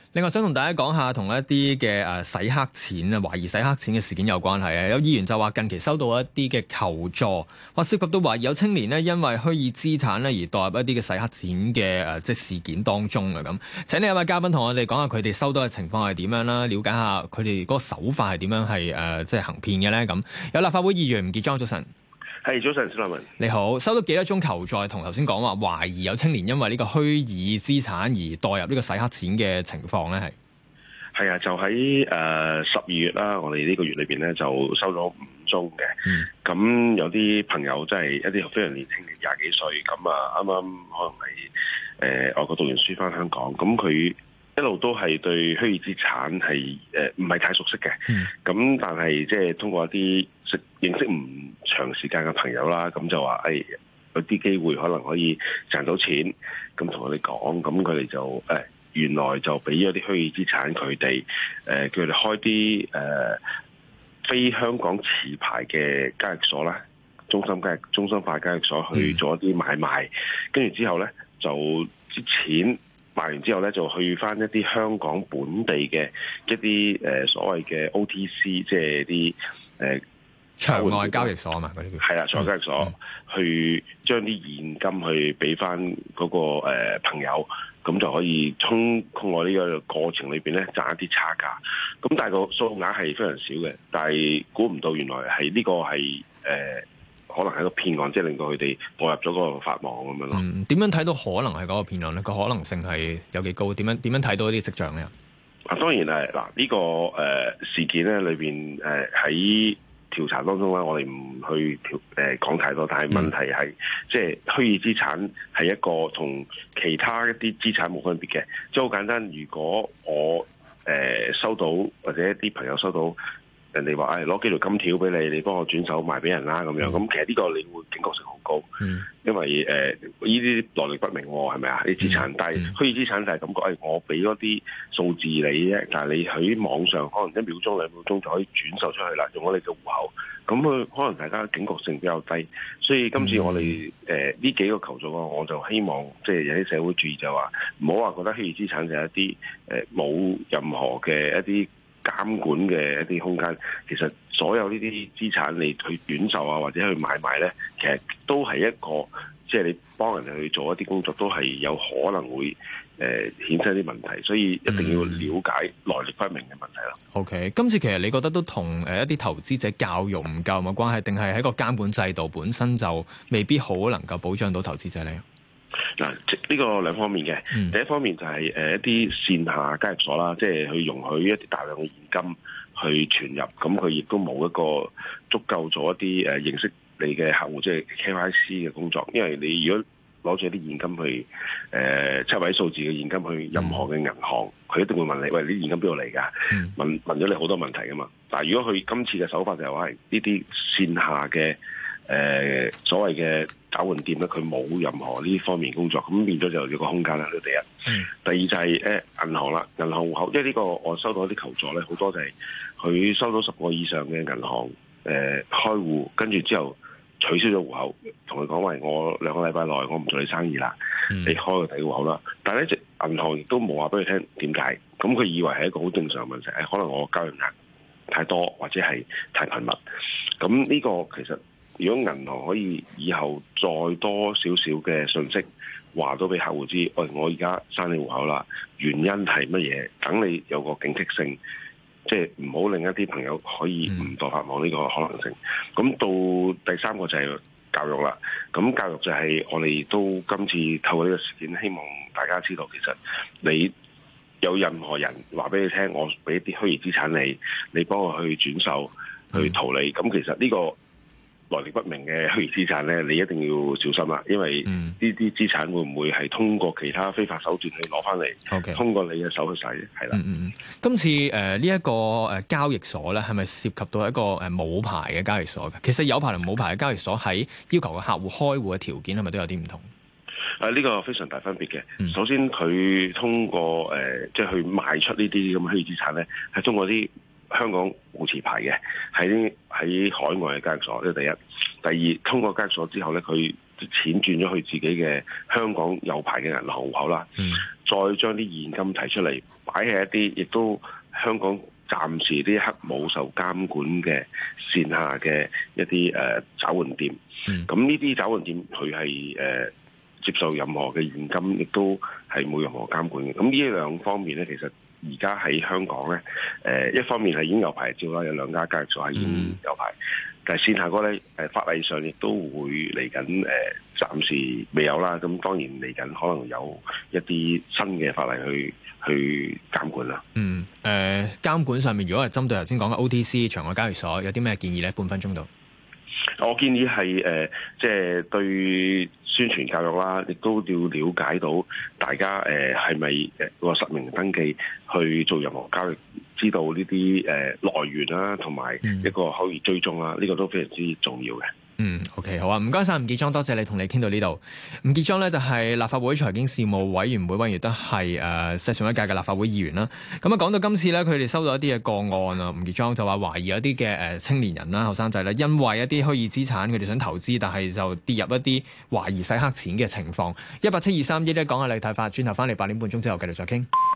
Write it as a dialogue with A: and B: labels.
A: 另外想同大家講下同一啲嘅洗黑錢啊，懷疑洗黑錢嘅事件有關係啊。有議員就話近期收到一啲嘅求助，話涉及到懷疑有青年呢因為虛擬資產咧而墮入一啲嘅洗黑錢嘅即係事件當中啊。咁請呢一位嘉賓同我哋講下佢哋收到嘅情況係點樣啦，了解下佢哋嗰個手法係點樣係即係行騙嘅咧。咁有立法會議員吳傑莊，早晨。
B: 係，早晨，小立文。
A: 你好，收到幾多宗求助？同頭先講話懷疑有青年因為呢個虛擬資產而墮入呢個洗黑錢嘅情況咧，
B: 係啊，就喺12月啦，我哋呢個月裏邊咧就收咗5宗嘅。咁有啲朋友真係一啲非常年輕嘅20幾歲，咁啊啱啱可能係外國讀完書翻香港，咁佢一路都係對虛擬資產係唔係太熟悉嘅。咁但係即係通過一啲認識唔長時間嘅朋友啦，咁就話有啲機會可能可以賺到錢，咁同我哋講，咁佢哋就原來就俾咗啲虛擬資產佢哋，叫佢哋開啲非香港持牌嘅交易所啦，中心化交易所去做一啲買賣，跟住之後咧就啲錢賣完之後咧就去翻一啲香港本地嘅一啲所謂嘅 OTC，即係啲
A: 場外交易所啊嘛，嗰啲
B: 係啦，場外交易所去將啲現金去俾翻嗰個朋友，咁就可以通過呢個過程裏邊咧賺一啲差價。咁但係個數額係非常少嘅，但係估唔到原來係呢個係可能係一個騙案，即係令到佢哋墮入咗嗰個法網咁樣咯。
A: 點樣睇到可能係嗰個騙案咧？個可能性係有幾高？點樣睇到呢啲跡象咧？
B: 當然係嗱，呢個事件咧裏邊喺調查當中咧，我哋唔去講太多，但係問題係即係虛擬資產係一個同其他一啲資產冇分別嘅，即係好簡單。如果我收到或者一啲朋友收到人哋話攞幾條金條俾你，你幫我轉手賣俾人啦咁樣，咁其實呢個你會警覺性好高，因為呢啲來歷不明喎，係咪啊？啲資產，但係虛擬資產就係感覺我俾嗰啲數字你啫，但係你喺網上可能1秒鐘、2秒鐘就可以轉售出去啦，用咗你嘅戶口，咁可能大家警覺性比較低，所以今次我哋呢幾個求助我就希望即係有啲社會注意，就話唔好話覺得虛擬資產就係一啲冇任何嘅一啲監管嘅一啲空間，其實所有呢啲資產你去轉售啊，或者去買賣咧，其實都係一個即係你幫人哋去做一啲工作，都係有可能會衍生啲問題，所以一定要了解來歷不明嘅問題咯。
A: OK， 今次其實你覺得都同一啲投資者教育唔夠有關係，定係喺個監管制度本身就未必好能夠保障到投資者咧？
B: 嗱，呢個兩方面嘅。第一方面就係一啲線下交易所啦，即係去容許一啲大量嘅現金去存入，咁佢亦都冇一個足夠做一啲認識你嘅客戶，即係 KYC 嘅工作。因為你如果攞住一啲現金去7位數字嘅現金去任何嘅銀行，佢一定會問你：喂，你現金邊度嚟㗎？問咗你好多問題㗎嘛。但係如果佢今次嘅手法就係話係呢啲線下嘅所謂嘅找換店咧，佢冇任何呢方面工作，咁變咗就有個空間啦。呢第一，第二就係銀行啦，銀行戶口，因為呢個我收到一啲求助咧，好多就係佢收到10個以上嘅銀行開戶，跟住之後取消咗戶口，同佢講話我2個禮拜內我唔做你生意啦，你開個第二戶口啦。但係咧，銀行亦都冇話俾佢聽點解，咁佢以為係一個好正常嘅問題，可能我交易額太多或者係太頻密，咁呢個其實。如果銀行可以以後再多少少嘅信息話到俾客戶知，喂，我而家刪你戶口啦，原因係乜嘢？等你有個警惕性，即係唔好令一啲朋友可以誤墮法網呢個可能性。咁到第三個就係教育啦。咁教育就係我哋都今次透過呢個事件，希望大家知道，其實你有任何人話俾你聽，我俾一啲虛擬資產你幫我去轉售去逃離，咁其實呢個來歷不明嘅虛擬資產咧，你一定要小心啦，因為呢啲資產會唔會係通過其他非法手段去攞翻嚟，通過你嘅手去使，係啦。
A: 今次呢一個交易所咧，係咪涉及到一個冇牌嘅交易所嘅？其實有牌同冇牌嘅交易所喺要求個客戶開戶嘅條件係咪都有啲唔同？
B: 呢個非常大分別嘅。首先佢通過即係去賣出呢啲咁嘅虛擬資產咧，係通過啲香港冇持牌嘅，喺海外嘅交易所，呢第一。第二，通過交易所之後咧，佢錢轉咗去自己嘅香港有牌嘅銀行戶口啦。 再將啲現金提出嚟擺喺一啲亦都香港暫時啲刻冇受監管嘅線下嘅一啲找換店。咁呢啲找換店佢係接受任何嘅現金，亦都係冇任何監管嘅。咁呢兩方面咧，其實而家喺香港咧，一方面係已經有牌照啦，有2家交易所係已經有牌，但係線下嗰咧法例上亦都會嚟緊暫時未有啦。咁當然嚟緊可能有一啲新嘅法例去監管啦。
A: 監管上面如果係針對頭先講嘅 OTC 場外交易所，有啲咩建議咧？半分鐘到。
B: 我建議係即係對宣傳教育啦，亦都要了解到大家係咪個實名登記去做任何交易，知道呢啲來源啦，同埋一個可以追蹤啦，呢個都非常之重要嘅。
A: OK， 好啊，唔該晒吳傑莊，多謝你同你傾到呢度。吳傑莊咧就係立法會財經事務委員會委員，亦都係上一屆嘅立法會議員啦。咁啊，講到今次咧，佢哋收到一啲嘅個案啊，吳傑莊就話懷疑有啲嘅青年人啦、後生仔咧，因為一啲虛擬資產，佢哋想投資，但係就跌入一啲懷疑洗黑錢嘅情況。1872311講下你睇法，轉頭翻嚟8點半鐘之後繼續再傾。